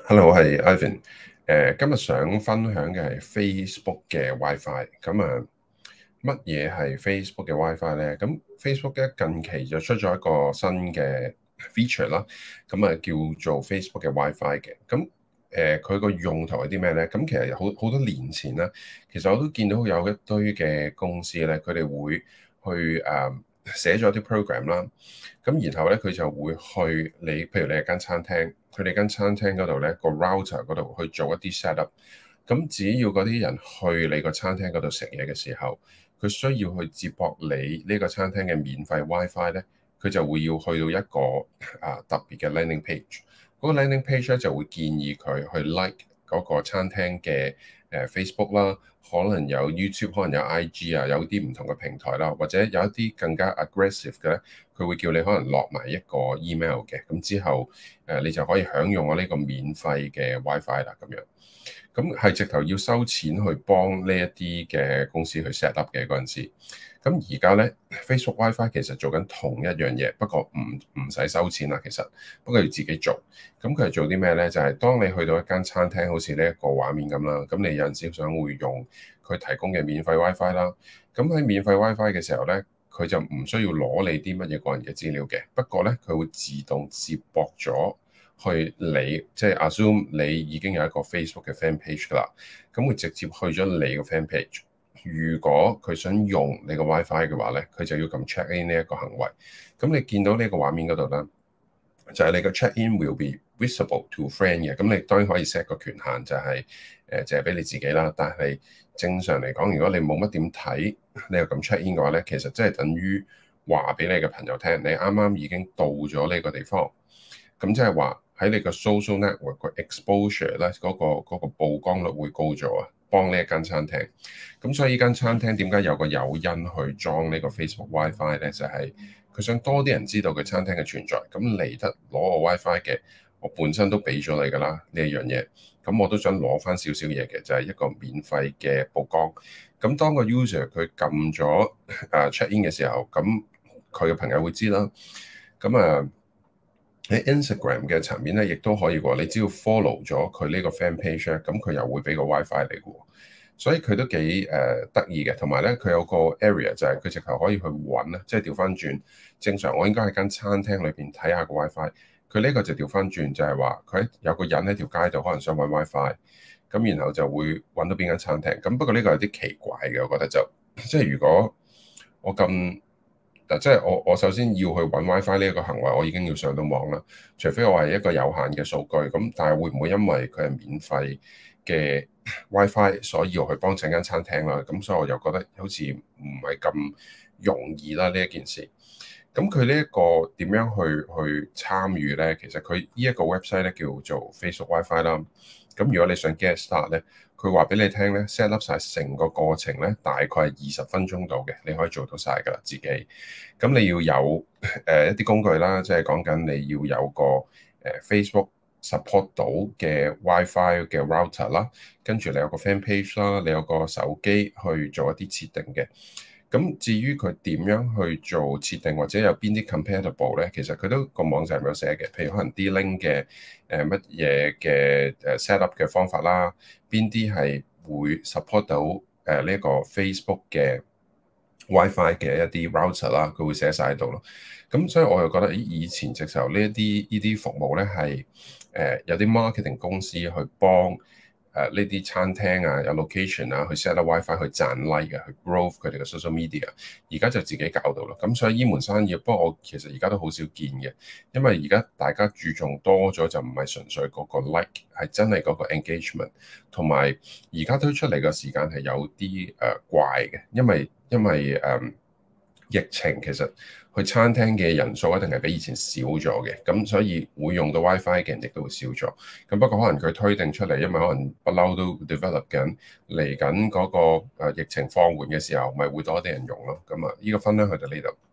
Hello，我係 Ivan。今日想分享嘅係 Facebook 嘅 WiFi。乜嘢係 Facebook 嘅 WiFi 咧？咁 Facebook 咧近期就出咗一個新嘅 feature 啦。叫做 Facebook 嘅 WiFi 嘅。佢個用途係啲咩咧？咁其實好多年前啦，其實我都見到有一堆嘅公司咧，佢哋會去寫咗啲 program 啦。咁然後咧，佢就會去你，譬如你係間餐廳，佢哋間餐廳嗰度咧個 router 嗰度去做一啲 set up。咁只要嗰啲人去你個餐廳嗰度食嘢嘅時候，佢需要去接駁你呢個餐廳嘅免費 WiFi 咧，佢就會要去到一個特別嘅 landing page。嗰個 landing page 咧就會建議佢去 like 嗰個餐廳嘅Facebook 啦，可能有 YouTube，可能有 IG 啊，有啲唔同嘅平台啦，或者有一啲更加 aggressive 嘅咧，佢會叫你可能落埋一個 email 嘅，咁之後你就可以享用我呢個免費嘅 WiFi 啦，咁樣。咁係直頭要收錢去幫呢一啲嘅公司去 set up 嘅嗰陣時。咁而家咧 Facebook WiFi 其實做緊同一樣嘢，不過唔使收錢啦，其實不過要自己做。咁佢係做啲咩咧？就係當你去到一間餐廳，好似呢一個畫面咁啦，咁你有陣時想會用佢提供嘅免費 WiFi 啦。咁喺免費 WiFi 嘅時候咧，佢就唔需要攞你啲乜嘢個人嘅資料嘅。不過咧，佢會自動接駁咗去你，即係 assume 你已經有一個 Facebook 嘅 fan page 㗎啦。咁會直接去咗你個 fan page。如果佢想用你個 WiFi 嘅話咧，佢就要撳 check in 呢一個行為。咁你見到呢個畫面嗰度咧，就係你個 check in will be visible to friend 嘅。咁你當然可以 set 個權限，就係淨係俾你自己啦。但係正常嚟講，如果你冇乜點睇，你又撳 check in 嘅話咧，其實即係等於話俾你嘅朋友聽，你啱啱已經到咗呢個地方。咁即係話喺你個 social network 個 exposure 咧，嗰個曝光率會高咗啊，幫呢一間餐廳。咁所以呢間餐廳點解有個誘因去裝呢個 Facebook WiFi 咧？就係佢想多啲人知道佢餐廳嘅存在。咁嚟得攞個 WiFi 嘅，我本身都俾咗你㗎啦呢一樣嘢。咁我都想攞翻少少嘢嘅，就係一個免費嘅曝光。咁當個 user 佢撳咗check in 嘅時候，咁佢嘅朋友會知啦。喺 Instagram 嘅層面咧，亦都可以喎。你只要 follow 咗佢呢個 fan page 咧，咁佢又會俾個 WiFi 你嘅喎。所以佢都幾得意嘅。同埋咧，佢有個 area 就係佢直頭可以去揾啦，即係調翻轉。正常我應該喺間餐廳裏邊睇下個 WiFi，佢呢個就調翻轉，就係話佢有個人喺條街度可能想揾 WiFi，咁然後就會揾到邊間餐廳。咁不過呢個有啲奇怪嘅，我覺得就即係如果我咁。嗱，即係我首先要去揾 WiFi 呢一個行為，我已經要上到網啦。除非我係一個有限嘅數據，咁但係會唔會因為佢係免費嘅 WiFi，所以要去幫襯間餐廳啦？咁所以我又覺得好似唔係咁容易啦呢一件事。咁佢呢一個點樣去參與咧？其實佢呢一個 website 咧叫做 Facebook WiFi 啦。咁如果你想 get start 咧，佢話俾你聽咧，set up 晒成個過程咧，大概係20分鐘度嘅，你可以做到晒㗎啦自己。咁你要有一啲工具啦，即係講緊你要有個Facebook support 到嘅 WiFi 嘅 router 啦，跟住你有個 fan page 啦，你有個手機去做一啲設定嘅。咁至於佢點樣去做設定或者有邊啲 compatible 咧，其實佢都個網站有寫嘅，譬如可能 D-Link 嘅乜嘢嘅set up 嘅方法啦，邊啲係會 support 到呢個 Facebook 嘅 WiFi 嘅一啲 router 啦，佢會寫晒喺度咯。咁所以我又覺得，以前直頭呢啲服務咧係有啲 marketing 公司去幫。呢啲餐廳啊，有 location 啊，去 set up WiFi 去賺 like 啊，去 grow 佢哋嘅 social media。而家就自己搞到啦。咁所以呢門生意，不過我其實而家都好少見嘅，因為而家大家注重多咗，就唔係純粹嗰個 like，係真係嗰個 engagement。同埋而家推出嚟嘅時間係有啲怪嘅，因為疫情其實去餐廳嘅人數一定係比以前少咗嘅，咁所以會用到 WiFi 嘅人亦都會少咗。咁不過可能佢推定出嚟，因為可能不嬲都 develop 緊，嚟緊嗰個疫情放緩嘅時候，咪會多啲人用咯。咁啊，呢個分享去到呢度。